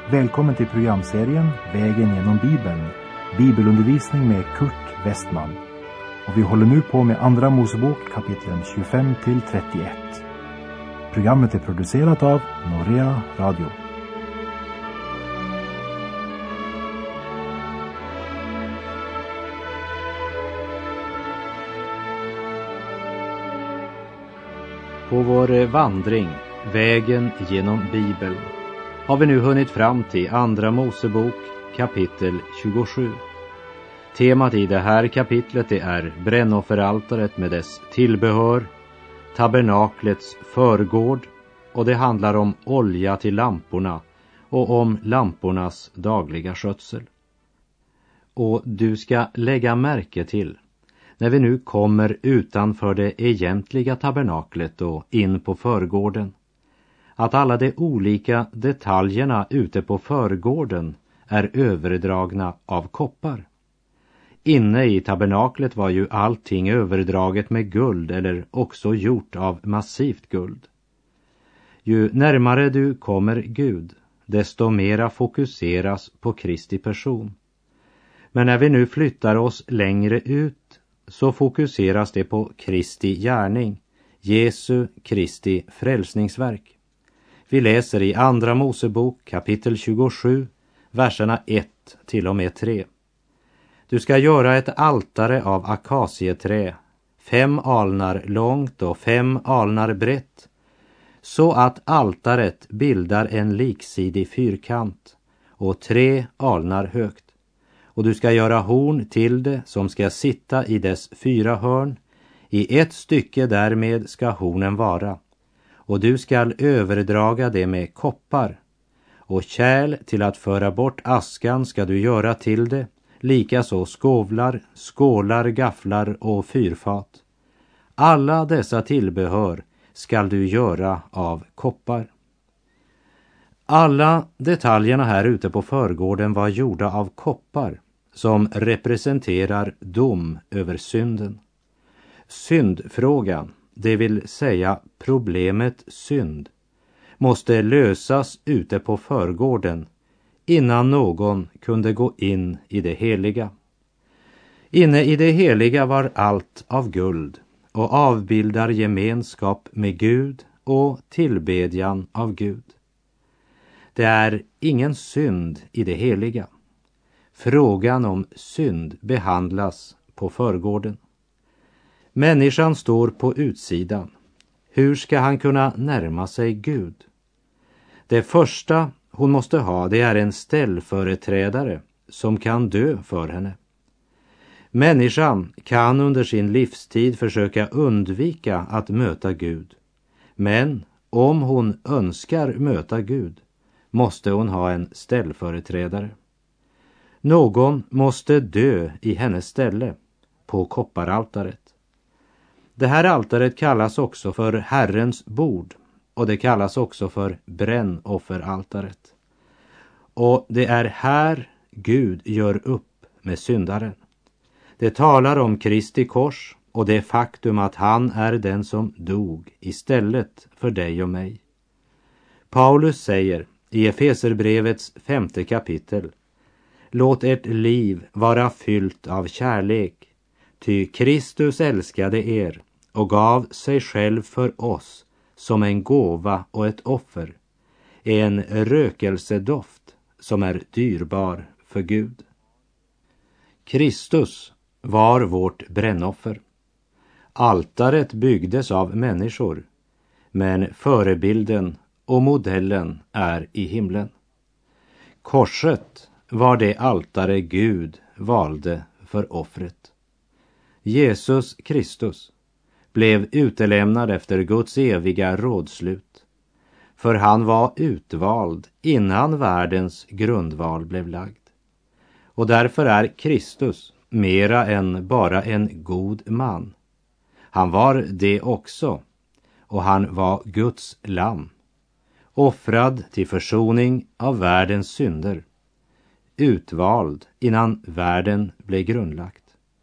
Välkommen till programserien Vägen genom Bibeln, bibelundervisning med Kurt Westman. Och vi håller nu på med Andra Mosebok kapitlen 25-31. Programmet är producerat av Norea Radio. På vår vandring, vägen genom Bibeln, har vi nu hunnit fram till Andra Mosebok kapitel 27. Temat i det här kapitlet det är brännofferaltaret med dess tillbehör, tabernaklets förgård, och det handlar om olja till lamporna och om lampornas dagliga skötsel. Och du ska lägga märke till, när vi nu kommer utanför det egentliga tabernaklet och in på förgården, att alla de olika detaljerna ute på förgården är överdragna av koppar. Inne i tabernaklet var ju allting överdraget med guld eller också gjort av massivt guld. Ju närmare du kommer Gud, desto mera fokuseras på Kristi person. Men när vi nu flyttar oss längre ut så fokuseras det på Kristi gärning, Jesu Kristi frälsningsverk. Vi läser i Andra Mosebok kapitel 27, verserna 1 till och med 3. Du ska göra ett altare av akacieträ, 5 alnar långt och 5 alnar brett, så att altaret bildar en liksidig fyrkant och 3 alnar högt. Och du ska göra horn till det som ska sitta i dess 4 hörn. I ett stycke därmed ska hornen vara. Och du skall överdraga det med koppar. Och kärl till att föra bort askan ska du göra till det. Likaså skovlar, skålar, gafflar och fyrfat. Alla dessa tillbehör skall du göra av koppar. Alla detaljerna här ute på förgården var gjorda av koppar, som representerar dom över synden. Syndfrågan, det vill säga problemet synd, måste lösas ute på förgården innan någon kunde gå in i det heliga. Inne i det heliga var allt av guld och avbildar gemenskap med Gud och tillbedjan av Gud. Det är ingen synd i det heliga. Frågan om synd behandlas på förgården. Människan står på utsidan. Hur ska han kunna närma sig Gud? Det första hon måste ha, det är en ställföreträdare som kan dö för henne. Människan kan under sin livstid försöka undvika att möta Gud. Men om hon önskar möta Gud måste hon ha en ställföreträdare. Någon måste dö i hennes ställe på kopparaltaret. Det här altaret kallas också för Herrens bord och det kallas också för brännofferaltaret. Och det är här Gud gör upp med syndaren. Det talar om Kristi kors och det faktum att han är den som dog istället för dig och mig. Paulus säger i Efeserbrevets 5:e kapitel: låt ert liv vara fyllt av kärlek, ty Kristus älskade er och gav sig själv för oss som en gåva och ett offer, en rökelsedoft som är dyrbar för Gud. Kristus var vårt brännoffer. Altaret byggdes av människor, men förebilden och modellen är i himlen. Korset var det altare Gud valde för offret. Jesus Kristus blev utelämnad efter Guds eviga rådslut, för han var utvald innan världens grundval blev lagd. Och därför är Kristus mera än bara en god man. Han var det också, och han var Guds lamm, offrad till försoning av världens synder, utvald innan världen blev grundlagt.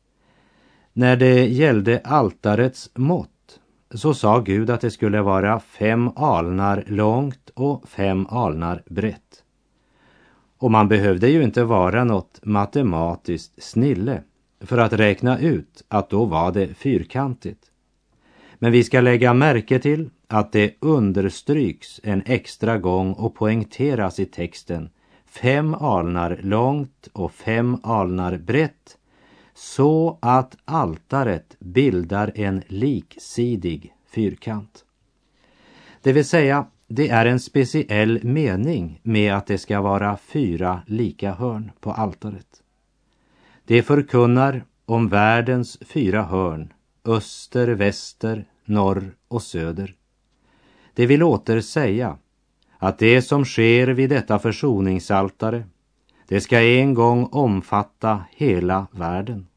När det gällde altarets mått så sa Gud att det skulle vara 5 alnar långt och 5 alnar brett. Och man behövde ju inte vara något matematiskt snille för att räkna ut att då var det fyrkantigt. Men vi ska lägga märke till att det understryks en extra gång och poängteras i texten 5 alnar långt och 5 alnar brett, så att altaret bildar en liksidig fyrkant. Det vill säga, det är en speciell mening med att det ska vara 4 lika hörn på altaret. Det förkunnar om världens 4 hörn, öster, väster, norr och söder. Det vill åter säga att det som sker vid detta försoningsaltare, det ska en gång omfatta hela världen.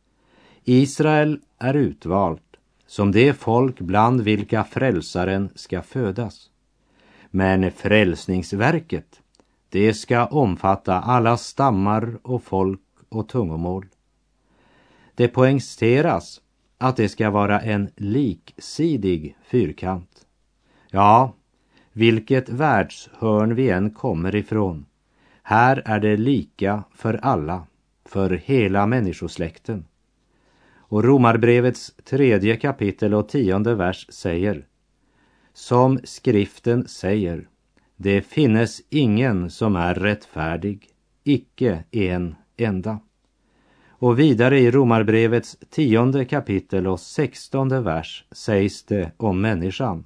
Israel är utvalt som det folk bland vilka frälsaren ska födas. Men frälsningsverket, det ska omfatta alla stammar och folk och tungomål. Det poängteras att det ska vara en liksidig fyrkant. Ja, vilket världshörn vi än kommer ifrån, här är det lika för alla, för hela människosläkten. Och Romarbrevets 3 kapitel och 10:e vers säger: som skriften säger, det finnes ingen som är rättfärdig, icke en enda. Och vidare i Romarbrevets 10:e kapitel och 16:e vers sägs det om människan: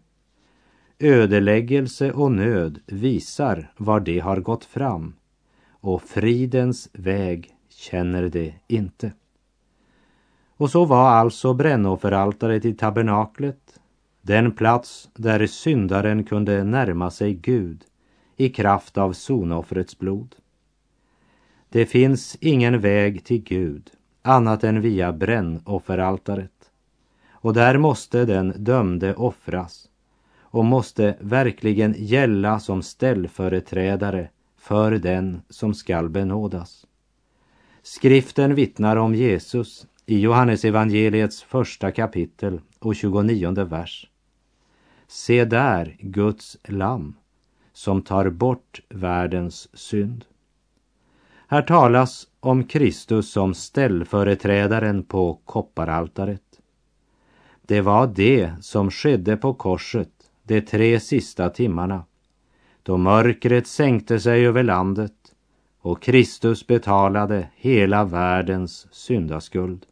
ödeläggelse och nöd visar var det har gått fram, och fridens väg känner det inte. Och så var alltså brännofferaltaret i tabernaklet den plats där syndaren kunde närma sig Gud i kraft av sonoffrets blod. Det finns ingen väg till Gud annat än via brännofferaltaret. Och där måste den dömde offras och måste verkligen gälla som ställföreträdare för den som skall benådas. Skriften vittnar om Jesus i Johannes evangeliets 1 kapitel och 29:e vers. Se där Guds lamm som tar bort världens synd. Här talas om Kristus som ställföreträdaren på kopparaltaret. Det var det som skedde på korset de 3 sista timmarna, då mörkret sänkte sig över landet och Kristus betalade hela världens syndaskuld.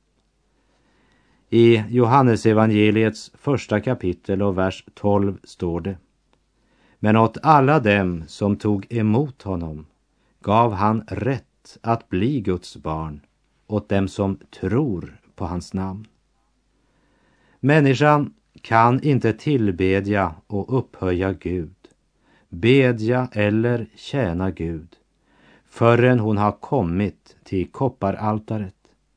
I Johannes evangeliets 1 kapitel och vers 12 står det: men åt alla dem som tog emot honom gav han rätt att bli Guds barn, åt dem som tror på hans namn. Människan kan inte tillbedja och upphöja Gud, bedja eller tjäna Gud, förrän hon har kommit till kopparaltaret.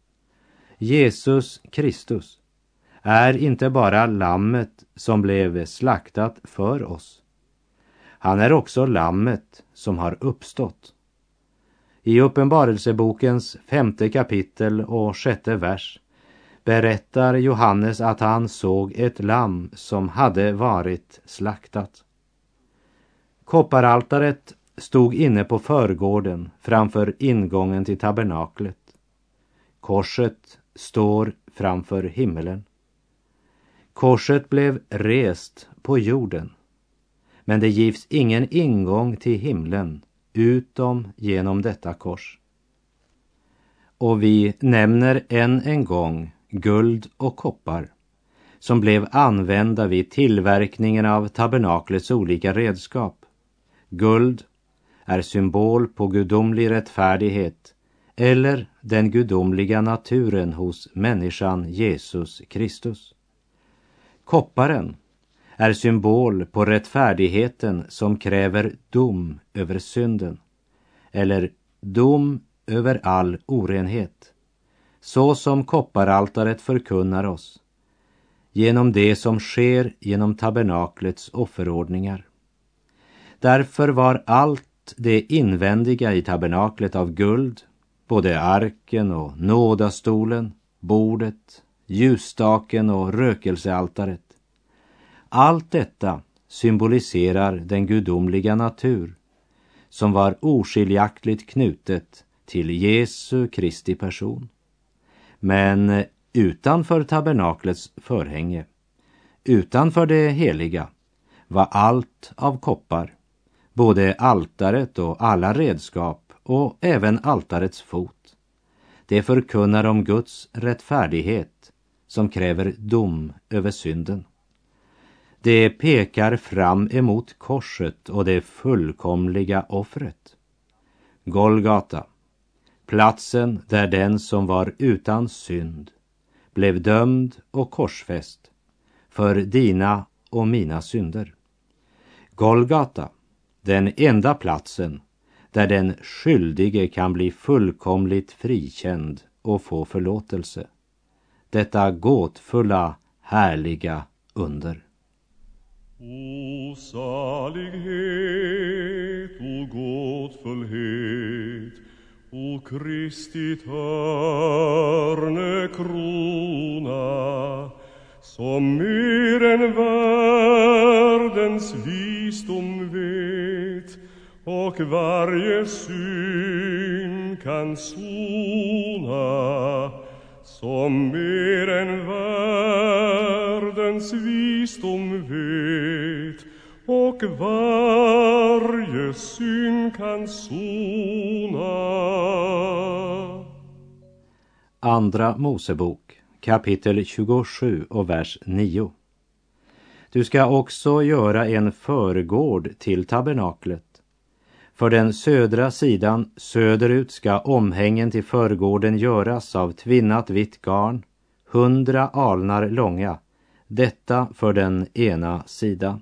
Jesus Kristus är inte bara lammet som blev slaktat för oss. Han är också lammet som har uppstått. I Uppenbarelsebokens 5:e kapitel och 6:e vers berättar Johannes att han såg ett lamm som hade varit slaktat. Kopparaltaret stod inne på förgården framför ingången till tabernaklet. Korset står framför himmelen. Korset blev rest på jorden, men det givs ingen ingång till himlen utom genom detta kors. Och vi nämner än en gång guld och koppar som blev använda vid tillverkningen av tabernaklets olika redskap. Guld är symbol på gudomlig rättfärdighet eller den gudomliga naturen hos människan Jesus Kristus. Kopparen är symbol på rättfärdigheten som kräver dom över synden eller dom över all orenhet, så som kopparaltaret förkunnar oss genom det som sker genom tabernaklets offerordningar. Därför var allt det invändiga i tabernaklet av guld, både arken och nådastolen, bordet, ljusstaken och rökelsealtaret. Allt detta symboliserar den gudomliga natur som var oskiljaktigt knutet till Jesu Kristi person. Men utanför tabernaklets förhänge, utanför det heliga, var allt av koppar, både altaret och alla redskap och även altarets fot. Det förkunnar om Guds rättfärdighet som kräver dom över synden. Det pekar fram emot korset och det fullkomliga offret. Golgata, platsen där den som var utan synd blev dömd och korsfäst för dina och mina synder. Golgata, den enda platsen där den skyldige kan bli fullkomligt frikänd och få förlåtelse. Detta gåtfulla, härliga under. O salighet, o gåtfullhet, o Kristi törnekrona, som mer än världens visdom vet och varje synd kan sona, som mer än världens visdom vet och varje synd kan sona. Andra Mosebok, kapitel 27 och vers 9. Du ska också göra en förgård till tabernaklet. För den södra sidan söderut ska omhängen till förgården göras av tvinnat vitt garn, 100 alnar långa, detta för den ena sidan.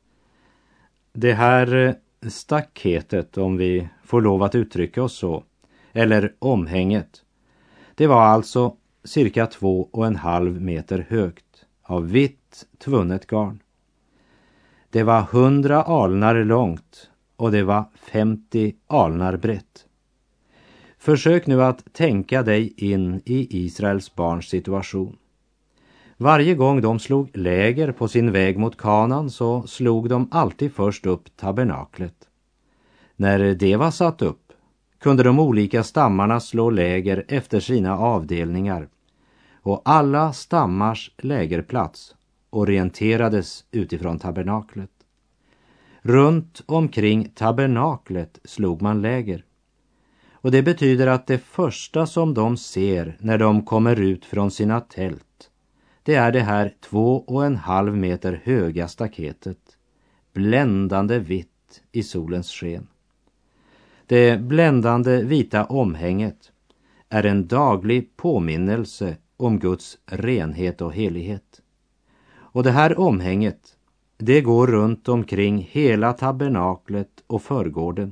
Det här staketet, om vi får lov att uttrycka oss så, eller omhänget, det var alltså cirka 2,5 meter högt av vitt tvunnet garn. Det var 100 alnar långt och det var 50 alnar brett. Försök nu att tänka dig in i Israels barns situation. Varje gång de slog läger på sin väg mot Kanaan så slog de alltid först upp tabernaklet. När det var satt upp kunde de olika stammarna slå läger efter sina avdelningar, och alla stammars lägerplats orienterades utifrån tabernaklet. Runt omkring tabernaklet slog man läger. Och det betyder att det första som de ser när de kommer ut från sina tält, det är det här 2,5 meter höga staketet, bländande vitt i solens sken. Det bländande vita omhänget är en daglig påminnelse om Guds renhet och helighet. Och det här omhänget, det går runt omkring hela tabernaklet och förgården.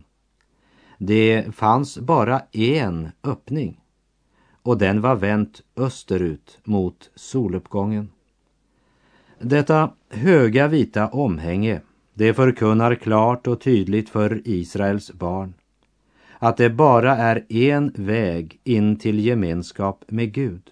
Det fanns bara en öppning, och den var vänt österut mot soluppgången. Detta höga vita omhänge, det förkunnar klart och tydligt för Israels barn att det bara är en väg in till gemenskap med Gud.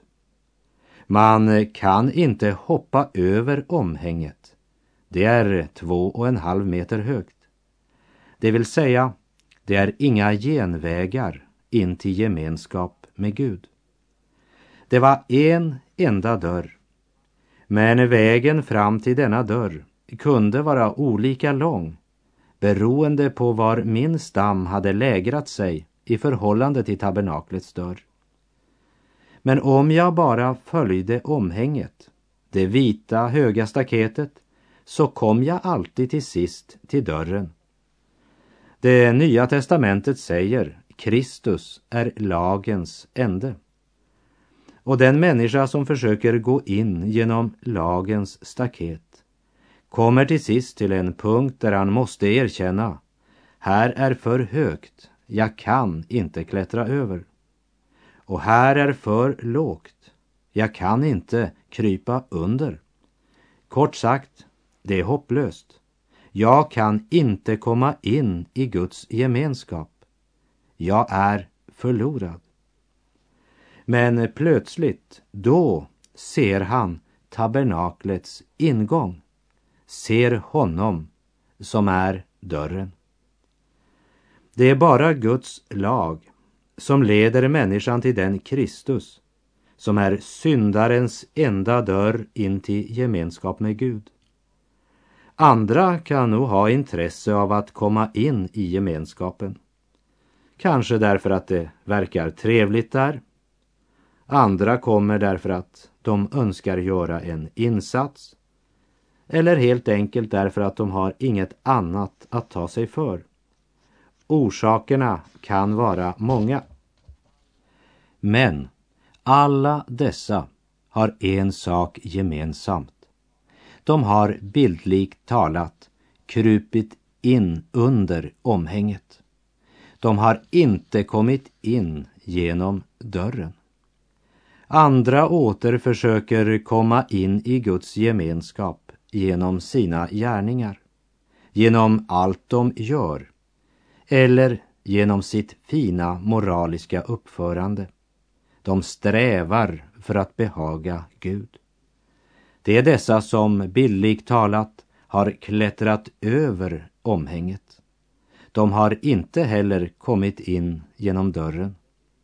Man kan inte hoppa över omhänget. Det är 2,5 meter högt. Det vill säga, det är inga genvägar in till gemenskap med Gud. Det var en enda dörr. Men vägen fram till denna dörr kunde vara olika lång, beroende på var min stam hade lägrat sig i förhållande till tabernaklets dörr. Men om jag bara följde omhänget, det vita höga staketet, så kom jag alltid till sist till dörren. Det Nya testamentet säger, Kristus är lagens ände. Och den människa som försöker gå in genom lagens staket kommer till sist till en punkt där han måste erkänna: här är för högt, jag kan inte klättra över. Och här är för lågt, jag kan inte krypa under. Kort sagt, det är hopplöst. Jag kan inte komma in i Guds gemenskap. Jag är förlorad. Men plötsligt, då ser han tabernaklets ingång. Ser honom som är dörren. Det är bara Guds lag som leder människan till den Kristus som är syndarens enda dörr in till gemenskap med Gud. Andra kan nog ha intresse av att komma in i gemenskapen. Kanske därför att det verkar trevligt där. Andra kommer därför att de önskar göra en insats. Eller helt enkelt därför att de har inget annat att ta sig för. Orsakerna kan vara många. Men alla dessa har en sak gemensamt. De har bildligt talat krupit in under omhänget. De har inte kommit in genom dörren. Andra åter försöker komma in i Guds gemenskap genom sina gärningar, genom allt de gör eller genom sitt fina moraliska uppförande. De strävar för att behaga Gud. Det är dessa som bildligt talat har klättrat över omhänget. De har inte heller kommit in genom dörren.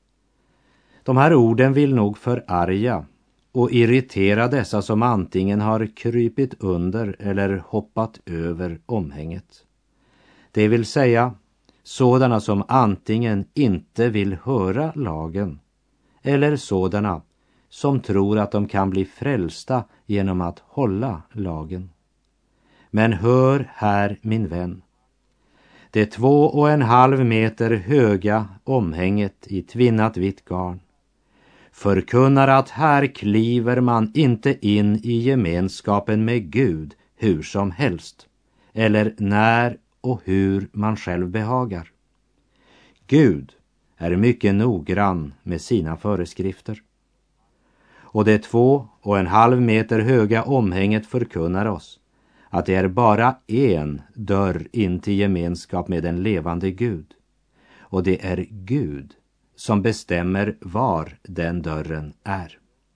De här orden vill nog förarga och irritera dessa som antingen har krypit under eller hoppat över omhänget. Det vill säga sådana som antingen inte vill höra lagen eller sådana som tror att de kan bli frälsta genom att hålla lagen. Men hör här, min vän. Det 2,5 meter höga omhänget i tvinnat vitt garn förkunnar att här kliver man inte in i gemenskapen med Gud hur som helst, eller när och hur man själv behagar. Gud är mycket noggrann med sina föreskrifter. Och det 2,5 meter höga omhänget förkunnar oss att det är bara en dörr in till gemenskap med den levande Gud. Och det är Gud som bestämmer var den dörren är.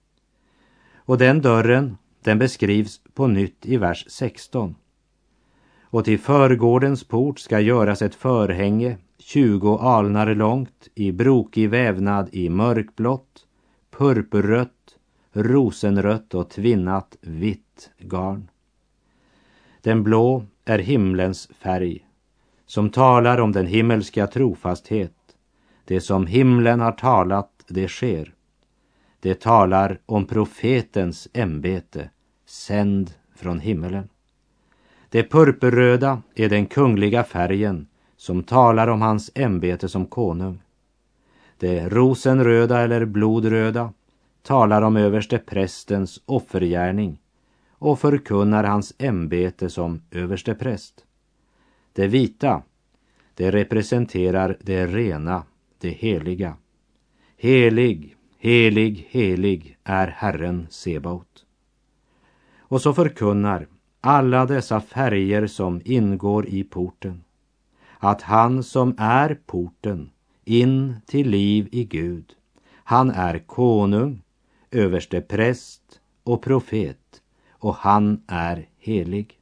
Och den dörren, den beskrivs på nytt i vers 16. Och till förgårdens port ska göras ett förhänge 20 alnar långt, i brokig vävnad i mörkblått, purpurrött, rosenrött och tvinnat vitt garn. Den blå är himlens färg, som talar om den himmelska trofasthet. Det som himlen har talat, det sker. Det talar om profetens ämbete, sänd från himmelen. Det purpurröda är den kungliga färgen som talar om hans ämbete som konung. Det rosenröda eller blodröda talar om överste prästens offergärning och förkunnar hans ämbete som överste präst. Det vita, det representerar det rena, det heliga. Helig, helig, helig är Herren Sebaot. Och så förkunnar alla dessa färger som ingår i porten att han som är porten in till liv i Gud, han är konung, överste präst och profet, och han är helig.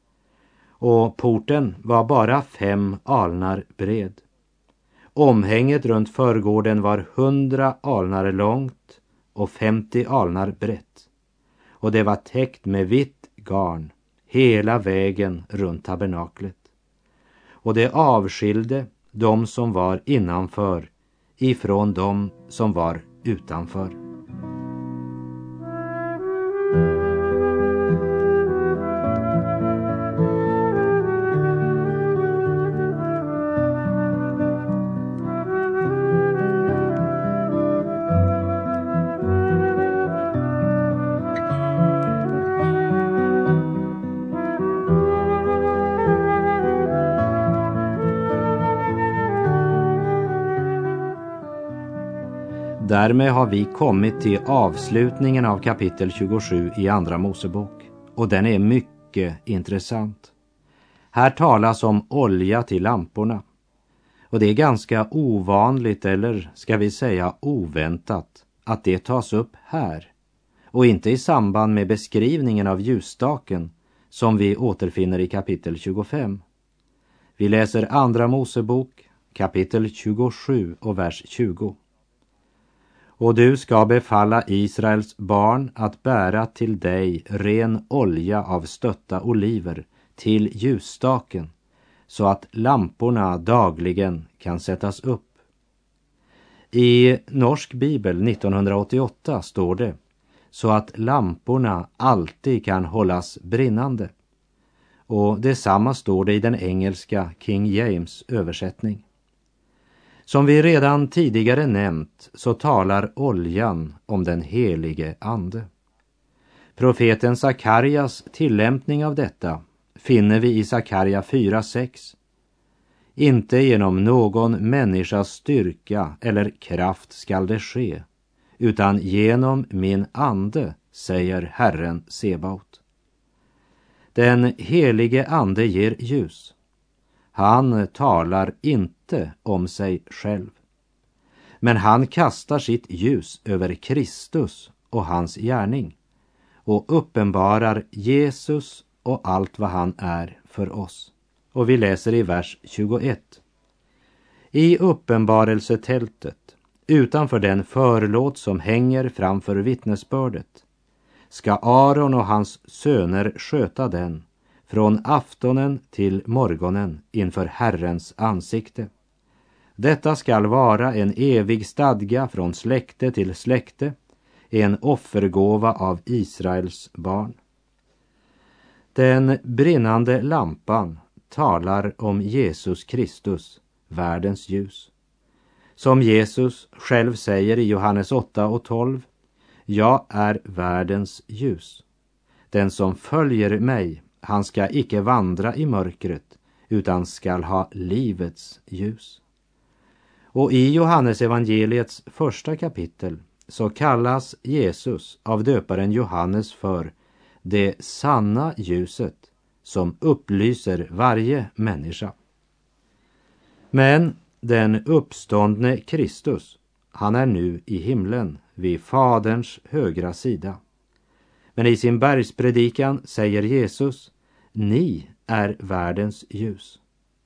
Och porten var bara 5 alnar bred. Omhänget runt förgården var 100 alnar långt och 50 alnar brett. Och det var täckt med vitt garn hela vägen runt tabernaklet. Och det avskilde de som var innanför ifrån de som var utanför. Därmed har vi kommit till avslutningen av kapitel 27 i Andra Mosebok, och den är mycket intressant. Här talas om olja till lamporna, och det är ganska ovanligt, eller ska vi säga oväntat, att det tas upp här och inte i samband med beskrivningen av ljusstaken som vi återfinner i kapitel 25. Vi läser Andra Mosebok kapitel 27 och vers 20. Och du ska befalla Israels barn att bära till dig ren olja av stötta oliver till ljusstaken, så att lamporna dagligen kan sättas upp. I Norsk bibel 1988 står det, så att lamporna alltid kan hållas brinnande. Och detsamma står det i den engelska King James översättning. Som vi redan tidigare nämnt så talar oljan om den helige ande. Profeten Sakarias tillämpning av detta finner vi i Sakaria 4:6. Inte genom någon människas styrka eller kraft skall det ske, utan genom min ande, säger Herren Sebaot. Den helige ande ger ljus. Han talar inte om sig själv. Men han kastar sitt ljus över Kristus och hans gärning och uppenbarar Jesus och allt vad han är för oss. Och vi läser i vers 21. I uppenbarelsetältet, utanför den förlåt som hänger framför vittnesbördet, ska Aron och hans söner sköta den från aftonen till morgonen inför Herrens ansikte. Detta skall vara en evig stadga från släkte till släkte, en offergåva av Israels barn. Den brinnande lampan talar om Jesus Kristus, världens ljus. Som Jesus själv säger i Johannes 8:12, jag är världens ljus. Den som följer mig, han ska icke vandra i mörkret, utan skall ha livets ljus. Och i Johannes evangeliets första kapitel så kallas Jesus av döparen Johannes för det sanna ljuset som upplyser varje människa. Men den uppståndne Kristus, han är nu i himlen vid Faderns högra sida. Men i sin bergspredikan säger Jesus, ni är världens ljus.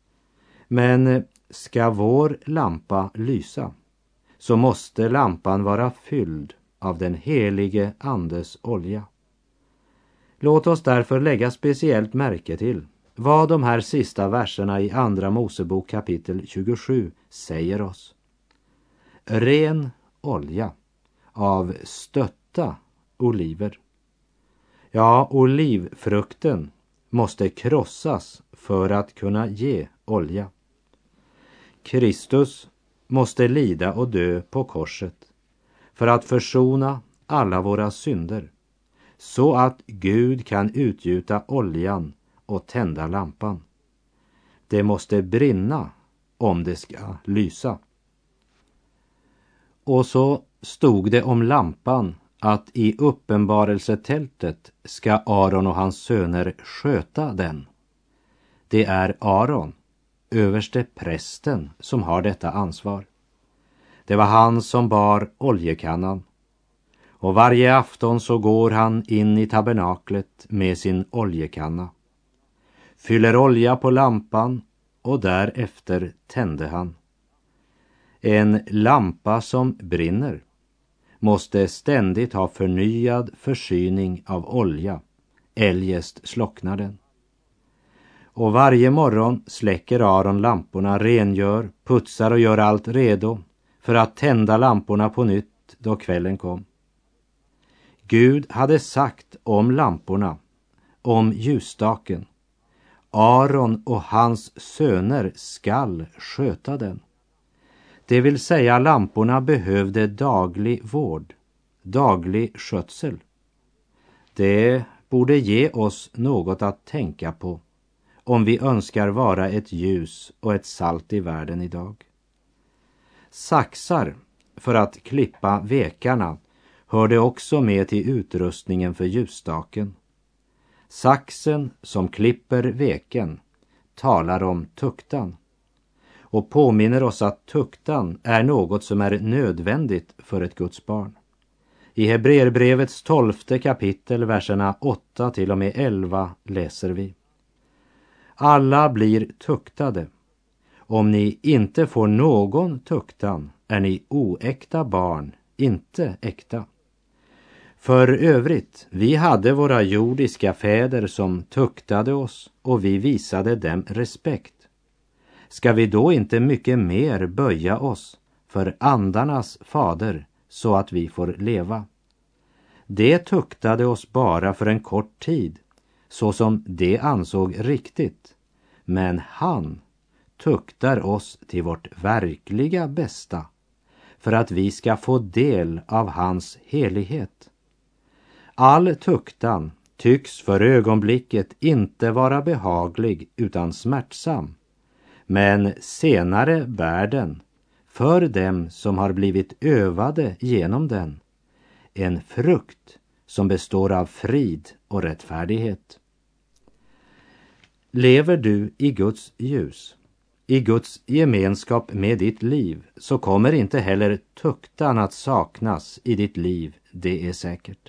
Men ska vår lampa lysa, så måste lampan vara fylld av den helige andes olja. Låt oss därför lägga speciellt märke till vad de här sista verserna i Andra Mosebok kapitel 27 säger oss. Ren olja av stötta oliver. Ja, olivfrukten måste krossas för att kunna ge olja. Kristus måste lida och dö på korset för att försona alla våra synder, så att Gud kan utgjuta oljan och tända lampan. Det måste brinna om det ska lysa. Och så stod det om lampan att i uppenbarelsetältet ska Aron och hans söner sköta den. Det är Aron, överste prästen, som har detta ansvar. Det var han som bar oljekannan. Och varje afton så går han in i tabernaklet med sin oljekanna, fyller olja på lampan och därefter tände han. En lampa som brinner måste ständigt ha förnyad försyning av olja, eljest slocknar den. Och varje morgon släcker Aron lamporna, rengör, putsar och gör allt redo för att tända lamporna på nytt då kvällen kom. Gud hade sagt om lamporna, om ljusstaken, Aron och hans söner skall sköta den. Det vill säga lamporna behövde daglig vård, daglig skötsel. Det borde ge oss något att tänka på om vi önskar vara ett ljus och ett salt i världen idag. Saxar för att klippa vekarna hörde också med till utrustningen för ljusstaken. Saxen som klipper veken talar om tuktan och påminner oss att tuktan är något som är nödvändigt för ett Guds barn. I Hebreerbrevets 12:e kapitel, verserna 8 till och med 11 läser vi: alla blir tuktade Om ni inte får någon tuktan är ni oäkta barn, inte äkta. För övrigt, vi hade våra jordiska fäder som tuktade oss och vi visade dem respekt. Ska vi då inte mycket mer böja oss för andarnas fader så att vi får leva? Det tuktade oss bara för en kort tid, så som det ansåg riktigt. Men han tuktar oss till vårt verkliga bästa, för att vi ska få del av hans helighet. All tuktan tycks för ögonblicket inte vara behaglig utan smärtsam, men senare bär den, för dem som har blivit övade genom den, en frukt som består av frid och rättfärdighet. Lever du i Guds ljus, i Guds gemenskap med ditt liv, så kommer inte heller tuktan att saknas i ditt liv, det är säkert.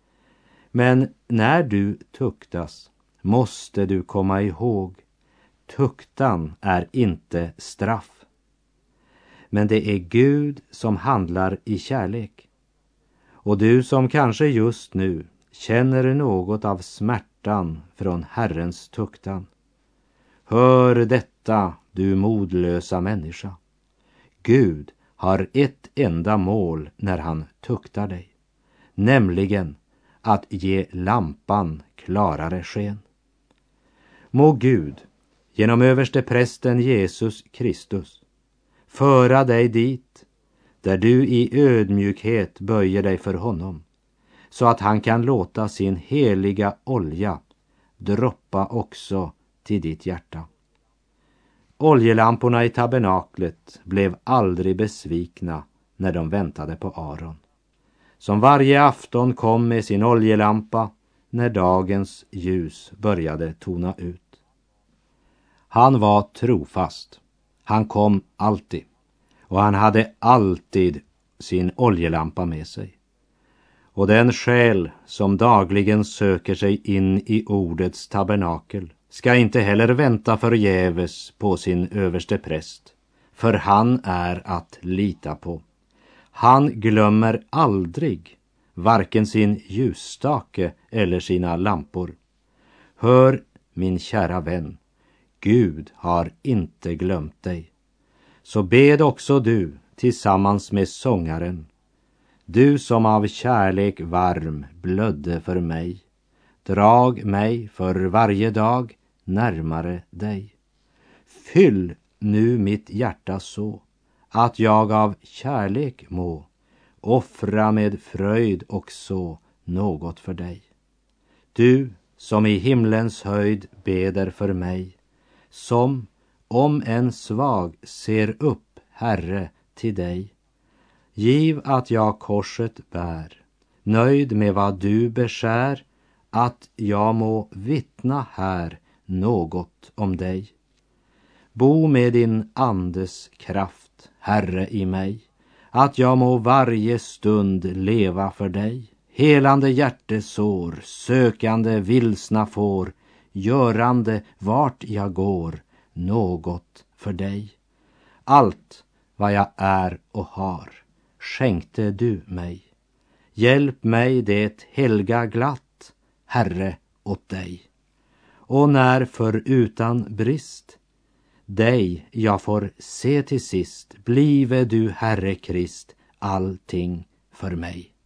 Men när du tuktas måste du komma ihåg, tuktan är inte straff. Men det är Gud som handlar i kärlek. Och du som kanske just nu känner något av smärtan från Herrens tuktan. Hör detta, du modlösa människa. Gud har ett enda mål när han tuktar dig, nämligen att ge lampan klarare sken. Må Gud genom översteprästen Jesus Kristus föra dig dit där du i ödmjukhet böjer dig för honom, så att han kan låta sin heliga olja droppa också till ditt hjärta. Oljelamporna i tabernaklet blev aldrig besvikna när de väntade på Aron, som varje afton kom med sin oljelampa när dagens ljus började tona ut. Han var trofast. Han kom alltid. Och han hade alltid sin oljelampa med sig. Och den själ som dagligen söker sig in i ordets tabernakel ska inte heller vänta förgäves på sin överste präst, för han är att lita på. Han glömmer aldrig varken sin ljusstake eller sina lampor. Hör, min kära vän, Gud har inte glömt dig. Så bed också du tillsammans med sångaren, du som av kärlek varm blödde för mig. Drag mig för varje dag närmare dig. Fyll nu mitt hjärta så att jag av kärlek må offra med fröjd också något för dig. Du som i himlens höjd beder för mig, som om en svag ser upp, Herre, till dig. Giv att jag korset bär, nöjd med vad du beskär, att jag må vittna här något om dig. Bo med din andes kraft, Herre, i mig, att jag må varje stund leva för dig. Helande hjärtesår, sökande vilsna får, görande vart jag går, något för dig. Allt vad jag är och har skänkte du mig. Hjälp mig det helga glatt, Herre, åt dig. Och när för utan brist dig jag får se till sist, blive du, Herre Krist, allting för mig.